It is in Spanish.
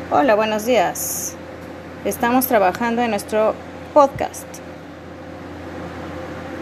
Hola, buenos días. Estamos trabajando en nuestro podcast.